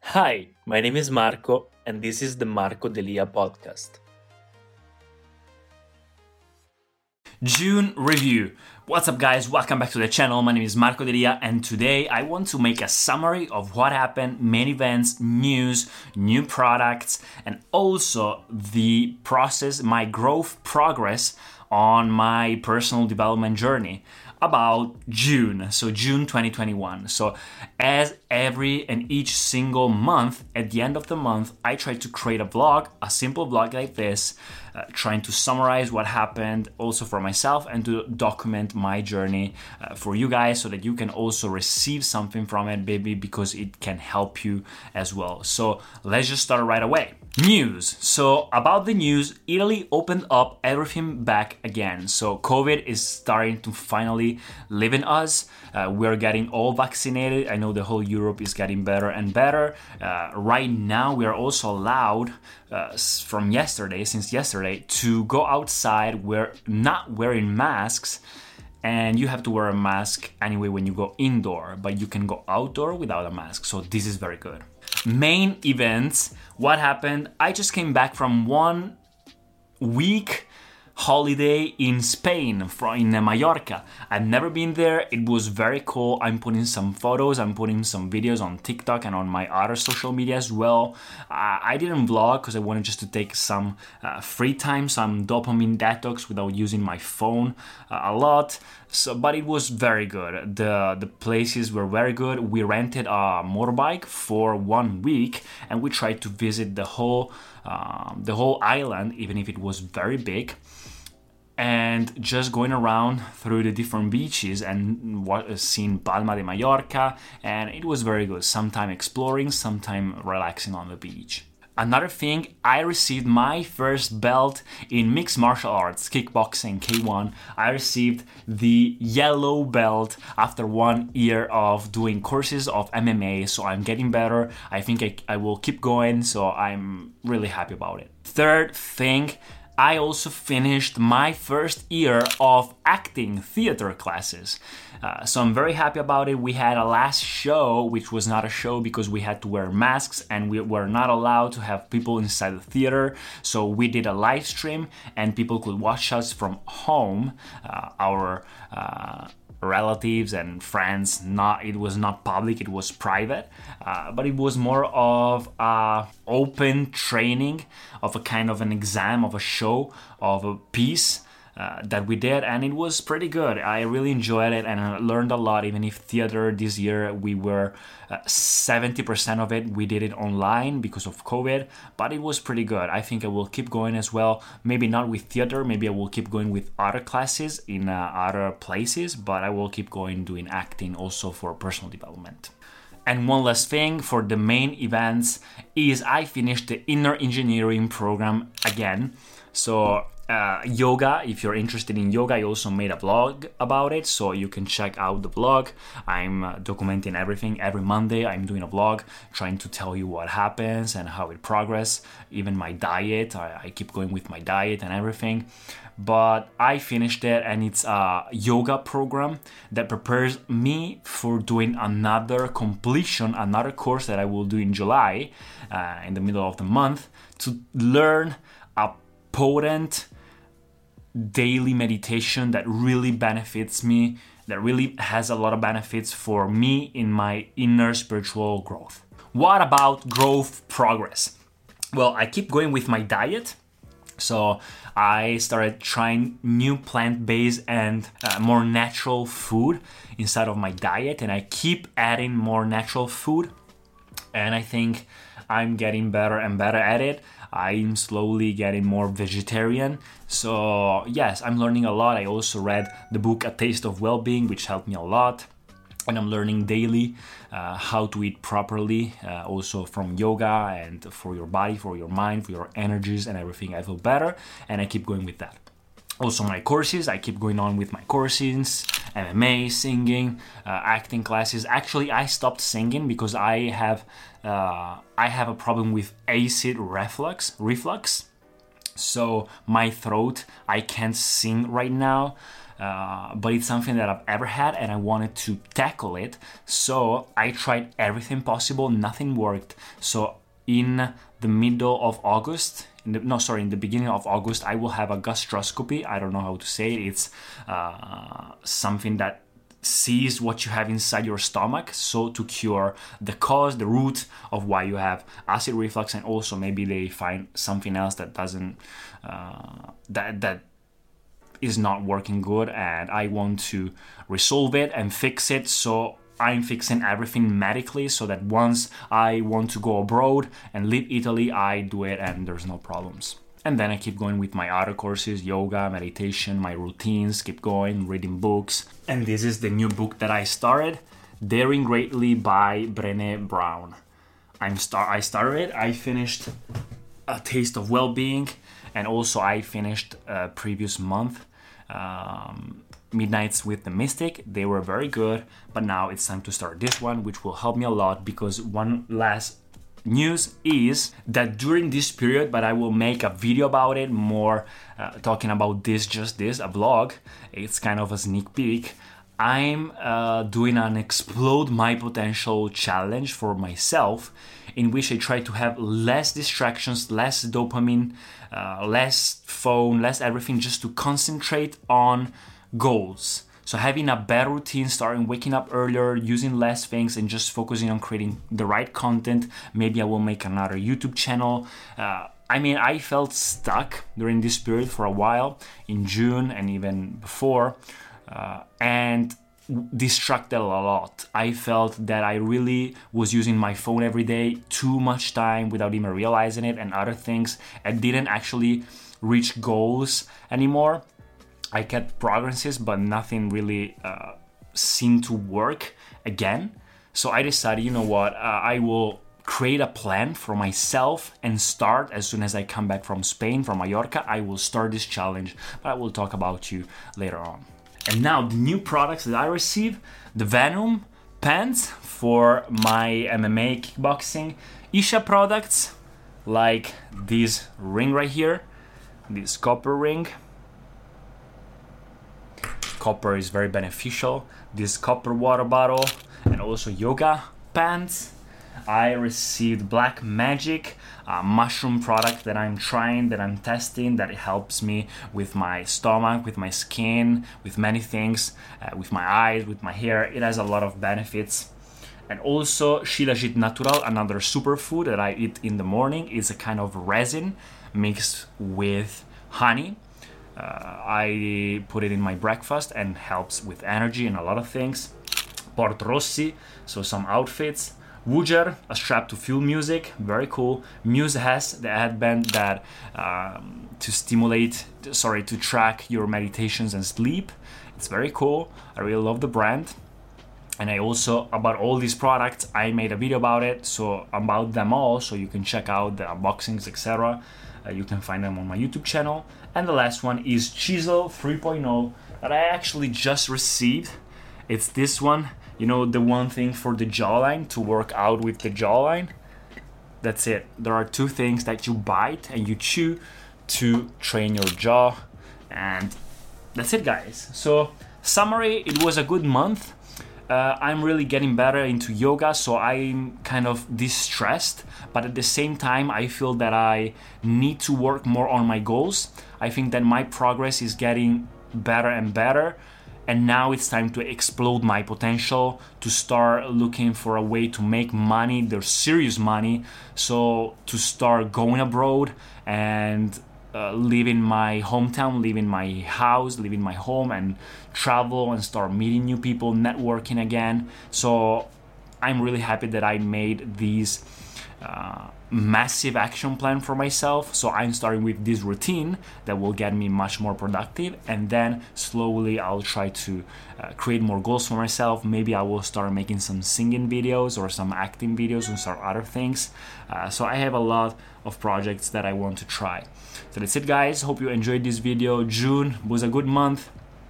Hi, my name is Marco, and this is the Marco Delia podcast. June review. What's up, guys? Welcome back to the channel. My name is Marco Delia, and today I want to make a summary of what happened, main events, news, new products, and also the process, my growth progress on my personal development journey about June, so June 2021. So as every and each single month, at the end of the month, I try to create a vlog, a simple vlog like this, trying to summarize what happened also for myself and to document my journey for you guys so that you can also receive something from it, maybe because it can help you as well. So let's just start right away. News. So about the news, Italy opened up everything back again. So COVID is starting to finally live in us. We're getting all vaccinated. I know the whole Europe is getting better and better. Right now, we are also allowed since yesterday, to go outside. We're not wearing masks. And you have to wear a mask anyway when you go indoor, but you can go outdoor without a mask. So this is very good. Main events. What happened? I just came back from 1 week holiday in Spain, in Mallorca. I've never been there. It was very cool. I'm putting some photos, I'm putting some videos on TikTok and on my other social media as well. I didn't vlog because I wanted just to take some free time, some dopamine detox without using my phone a lot. So, but it was very good. The places were very good. We rented a motorbike for 1 week and we tried to visit the whole island, even if it was very big. And just going around through the different beaches and seeing Palma de Mallorca, and it was very good. Sometime exploring, sometime relaxing on the beach. Another thing, I received my first belt in mixed martial arts, kickboxing, K1. I received the yellow belt after 1 year of doing courses of MMA, so I'm getting better. I think I will keep going, so I'm really happy about it. Third thing, I also finished my first year of acting theater classes. So I'm very happy about it. We had a last show, which was not a show because we had to wear masks and we were not allowed to have people inside the theater. So we did a live stream and people could watch us from home, our relatives and friends. It was not public, it was private, but it was more of a open training of a kind of an exam, of a show, of a piece that we did, and it was pretty good. I really enjoyed it and I learned a lot. Even if theater this year we were 70% of it, we did it online because of COVID, but it was pretty good. I think I will keep going as well. Maybe not with theater, maybe I will keep going with other classes in other places, but I will keep going doing acting also for personal development. And one last thing for the main events is I finished the inner engineering program again. So yoga, if you're interested in yoga, I also made a vlog about it, so you can check out the vlog. I'm documenting everything. Every Monday I'm doing a vlog trying to tell you what happens and how it progresses. Even my diet, I keep going with my diet and everything. But I finished it, and it's a yoga program that prepares me for doing another course that I will do in July, in the middle of the month, to learn a potent daily meditation that really benefits me, that really has a lot of benefits for me in my inner spiritual growth. What about growth progress? Well, I keep going with my diet. So I started trying new plant-based and more natural food inside of my diet, and I keep adding more natural food, and I think I'm getting better and better at it. I'm slowly getting more vegetarian. So yes, I'm learning a lot. I also read the book A Taste of Wellbeing, which helped me a lot. And I'm learning daily how to eat properly, also from yoga, and for your body, for your mind, for your energies and everything. I feel better, and I keep going with that. Also my courses, I keep going on with my courses, MMA, singing, acting classes. Actually, I stopped singing because I have a problem with acid reflux. So my throat, I can't sing right now. but it's something that I've ever had and I wanted to tackle it. So I tried everything possible, nothing worked. So in the middle of August, in the beginning of August, I will have a gastroscopy. I don't know how to say it. It's something that sees what you have inside your stomach, so to cure the cause, the root of why you have acid reflux, and also maybe they find something else that doesn't that is not working good, and I want to resolve it and fix it. So I'm fixing everything medically so that once I want to go abroad and leave Italy, I do it and there's no problems. And then I keep going with my other courses, yoga, meditation, my routines, keep going, reading books. And this is the new book that I started, Daring Greatly by Brené Brown. I started it, I finished A Taste of Well-Being, and also I finished previous month, Midnights with the Mystic. They were very good, but now it's time to start this one, which will help me a lot, because one last news is that during this period, but I will make a video about it more, talking about this, a vlog. It's kind of a sneak peek. I'm doing an Explode My Potential challenge for myself, in which I try to have less distractions, less dopamine, less phone, less everything, just to concentrate on goals. So having a better routine, starting waking up earlier, using less things, and just focusing on creating the right content. Maybe I will make another YouTube channel. I felt stuck during this period for a while, in June and even before, and distracted a lot. I felt that I really was using my phone every day, too much time without even realizing it, and other things. I didn't actually reach goals anymore. I kept progresses, but nothing really seemed to work again. So I decided, you know what, I will create a plan for myself and start as soon as I come back from Spain, from Mallorca. I will start this challenge, but I will talk about you later on. And now the new products that I received, the Venom pants for my MMA kickboxing, Isha products like this ring right here, this copper ring. Copper is very beneficial. This copper water bottle, and also yoga pants. I received Black Magic, a mushroom product that I'm trying, that I'm testing, that it helps me with my stomach, with my skin, with many things, with my eyes, with my hair. It has a lot of benefits. And also Shilajit Natural, another superfood that I eat in the morning. It's a kind of resin mixed with honey. I put it in my breakfast and helps with energy and a lot of things. Port Rossi, so some outfits. Wooger, a strap to feel music, very cool. Muse has the headband that to track your meditations and sleep. It's very cool. I really love the brand. And I also, about all these products, I made a video about it, so about them all, so you can check out the unboxings, etc. You can find them on my YouTube channel. And the last one is Chisel 3.0 that I actually just received. It's this one, you know, the one thing for the jawline, to work out with the jawline. That's it. There are two things that you bite and you chew to train your jaw. And that's it, guys. So, summary, it was a good month. I'm really getting better into yoga, so I'm kind of distressed, but at the same time I feel that I need to work more on my goals. I think that my progress is getting better and better, and now it's time to explode my potential, to start looking for a way to make money, there's serious money, so to start going abroad and leaving my hometown, leaving my house, leaving my home, and travel and start meeting new people, networking again. So I'm really happy that I made this massive action plan for myself. So I'm starting with this routine that will get me much more productive, and then slowly I'll try to create more goals for myself. Maybe I will start making some singing videos or some acting videos and start other things. So I have a lot of projects that I want to try. So that's it, guys. Hope you enjoyed this video. June was a good month,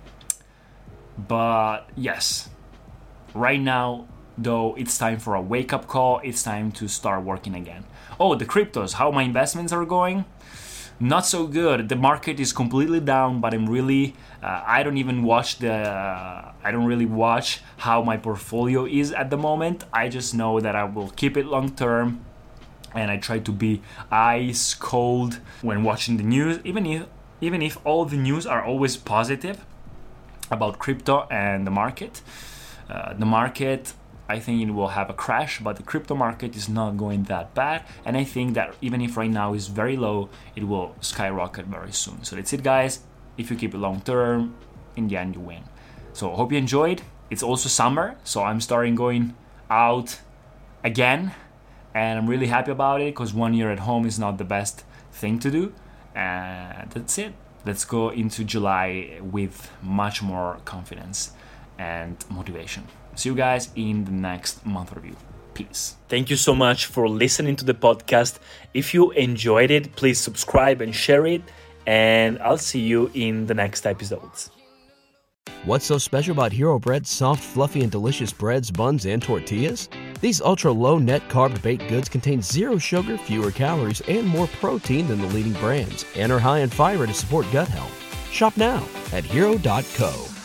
but yes, right now though, it's time for a wake-up call. It's time to start working again. Oh, the cryptos, how my investments are going. not so good. The market is completely down, but I'm really I don't really watch how my portfolio is at the moment. I just know that I will keep it long term, and I try to be ice cold when watching the news, even if all the news are always positive about crypto and the market. The market, I think it will have a crash, but the crypto market is not going that bad. And I think that even if right now is very low, it will skyrocket very soon. So that's it, guys. If you keep it long term, in the end you win. So I hope you enjoyed. It's also summer, so I'm starting going out again. And I'm really happy about it because 1 year at home is not the best thing to do. And that's it. Let's go into July with much more confidence and motivation. See you guys in the next month review. Peace. Thank you so much for listening to the podcast. If you enjoyed it, please subscribe and share it. And I'll see you in the next episodes. What's so special about Hero Bread's soft, fluffy, and delicious breads, buns, and tortillas? These ultra-low net-carb baked goods contain zero sugar, fewer calories, and more protein than the leading brands, and are high in fiber to support gut health. Shop now at Hero.co.